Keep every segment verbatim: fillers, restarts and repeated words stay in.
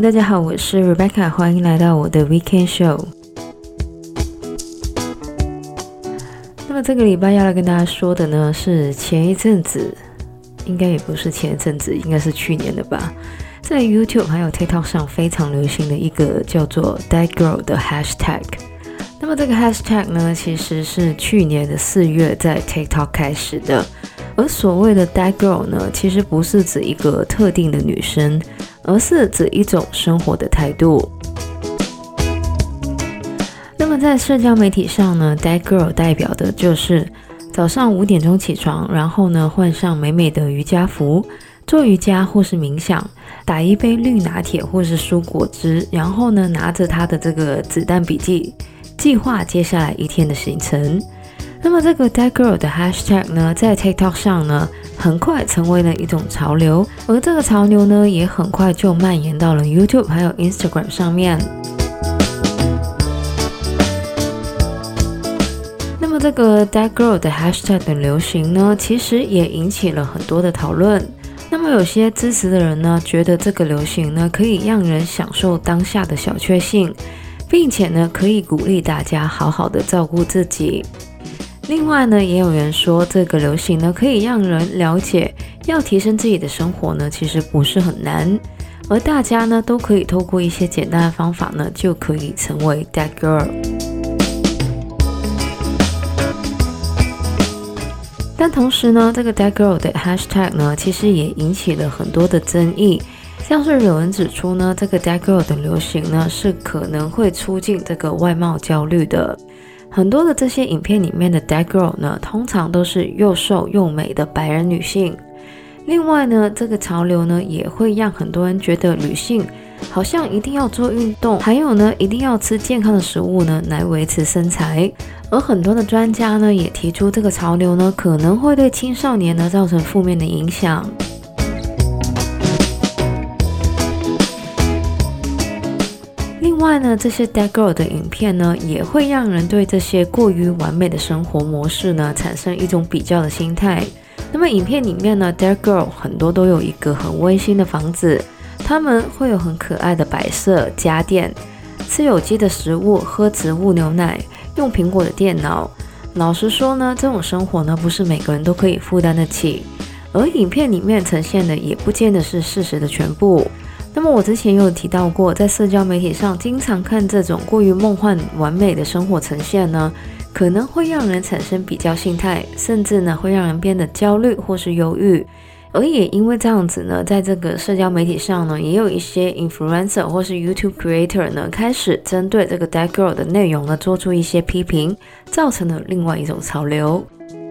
大家好，我是 Rebecca， 欢迎来到我的 Weekend Show。那么这个礼拜要来跟大家说的呢，是前一阵子，应该也不是前一阵子，应该是去年的吧，在 YouTube 还有 TikTok 上非常流行的一个叫做 That Girl 的 Hashtag。那么这个 Hashtag 呢，其实是去年的四月在 TikTok 开始的。而所谓的 That Girl 呢，其实不是指一个特定的女生，而是指一种生活的态度。那么在社交媒体上呢， That Girl 代表的就是早上五点钟起床，然后呢换上美美的瑜伽服，做瑜伽或是冥想，打一杯绿拿铁或是蔬果汁，然后呢拿着她的这个子弹笔记，计划接下来一天的行程。那么这个 That Girl 的 Hashtag 呢，在 TikTok 上呢，很快成为了一种潮流，而这个潮流呢，也很快就蔓延到了 YouTube 还有 Instagram 上面。那么这个 That Girl 的 Hashtag 的流行呢，其实也引起了很多的讨论。那么有些支持的人呢，觉得这个流行呢，可以让人享受当下的小确幸，并且呢，可以鼓励大家好好的照顾自己。另外呢，也有人说这个流行呢，可以让人了解要提升自己的生活呢，其实不是很难，而大家呢都可以透过一些简单的方法呢，就可以成为 That Girl。但同时呢，这个 That Girl 的 Hashtag 呢，其实也引起了很多的争议，像是有人指出呢，这个 That Girl 的流行呢，是可能会促进这个外貌焦虑的。很多的这些影片里面的 That Girl 呢，通常都是又瘦又美的白人女性。另外呢，这个潮流呢，也会让很多人觉得女性好像一定要做运动，还有呢，一定要吃健康的食物呢，来维持身材。而很多的专家呢，也提出这个潮流呢，可能会对青少年呢，造成负面的影响。另外呢，这些 That Girl 的影片呢，也会让人对这些过于完美的生活模式呢，产生一种比较的心态。那么影片里面呢， That Girl 很多都有一个很温馨的房子，他们会有很可爱的摆设、家电，吃有机的食物，喝植物牛奶，用苹果的电脑。老实说呢，这种生活呢，不是每个人都可以负担得起，而影片里面呈现的也不见得是事实的全部。那么我之前有提到过，在社交媒体上经常看这种过于梦幻完美的生活呈现呢，可能会让人产生比较心态，甚至呢会让人变得焦虑或是忧郁。而也因为这样子呢，在这个社交媒体上呢，也有一些 influencer 或是 YouTube creator 呢，开始针对这个 That Girl 的内容呢，做出一些批评，造成了另外一种潮流。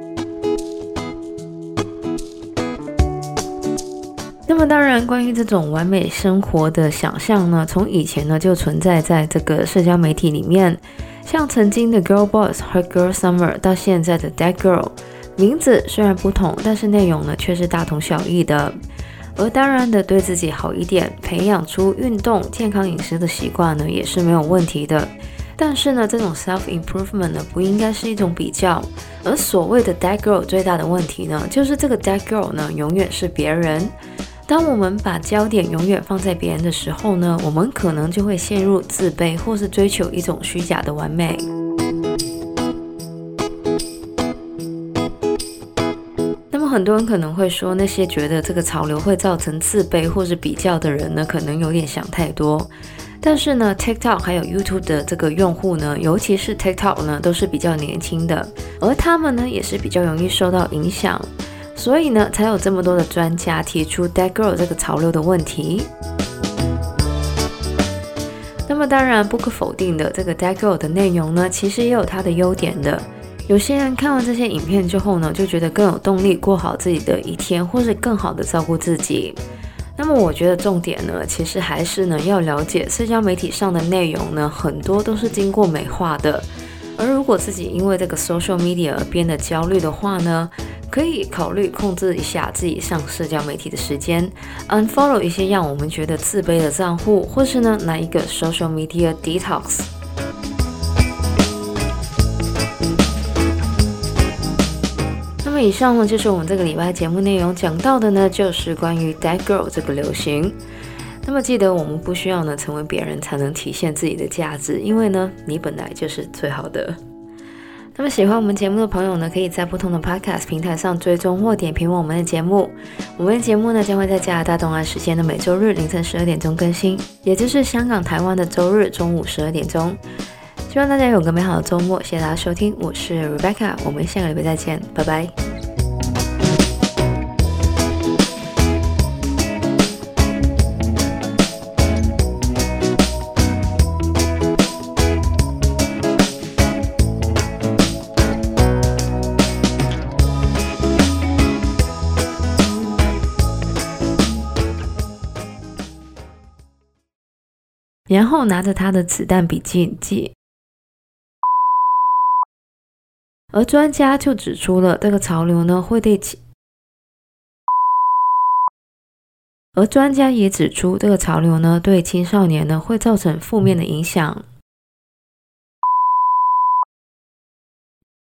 那么当然，关于这种完美生活的想象呢，从以前呢就存在在这个社交媒体里面，像曾经的 Girl Boss 和 Girl Summer 到现在的 That Girl， 名字虽然不同，但是内容呢却是大同小异的。而当然的，对自己好一点，培养出运动、健康饮食的习惯呢，也是没有问题的。但是呢，这种 self-improvement 呢，不应该是一种比较。而所谓的 That Girl 最大的问题呢，就是这个 That Girl 呢，永远是别人。当我们把焦点永远放在别人的时候呢，我们可能就会陷入自卑，或是追求一种虚假的完美。那么很多人可能会说，那些觉得这个潮流会造成自卑或是比较的人呢，可能有点想太多。但是呢 TikTok 还有 YouTube 的这个用户呢，尤其是 TikTok 呢，都是比较年轻的，而他们呢，也是比较容易受到影响。所以呢，才有这么多的专家提出 That Girl 这个潮流的问题。那么当然不可否定的，这个 That Girl 的内容呢，其实也有它的优点的。有些人看完这些影片之后呢，就觉得更有动力过好自己的一天，或是更好的照顾自己。那么我觉得重点呢，其实还是呢，要了解社交媒体上的内容呢，很多都是经过美化的。而如果自己因为这个 social media 而变得焦虑的话呢，可以考虑控制一下自己上社交媒体的时间 ，unfollow 一些让我们觉得自卑的账户，或是呢来一个 social media detox。那么以上呢就是我们这个礼拜节目内容讲到的呢，就是关于 That Girl 这个流行。 那么记得我们不需要呢成为别人才能体现自己的价值，因为呢你本来就是最好的。那么喜欢我们节目的朋友呢，可以在不同的 podcast 平台上追踪或点评我们的节目。我们的节目呢将会在加拿大东岸时间的每周日凌晨十二点钟更新，也就是香港、台湾的周日中午十二点钟。希望大家有个美好的周末，谢谢大家收听，我是 Rebecca， 我们下个礼拜再见，拜拜。然后拿着他的子弹笔记记，而专家就指出了这个潮流呢会对其，而专家也指出这个潮流呢对青少年呢会造成负面的影响。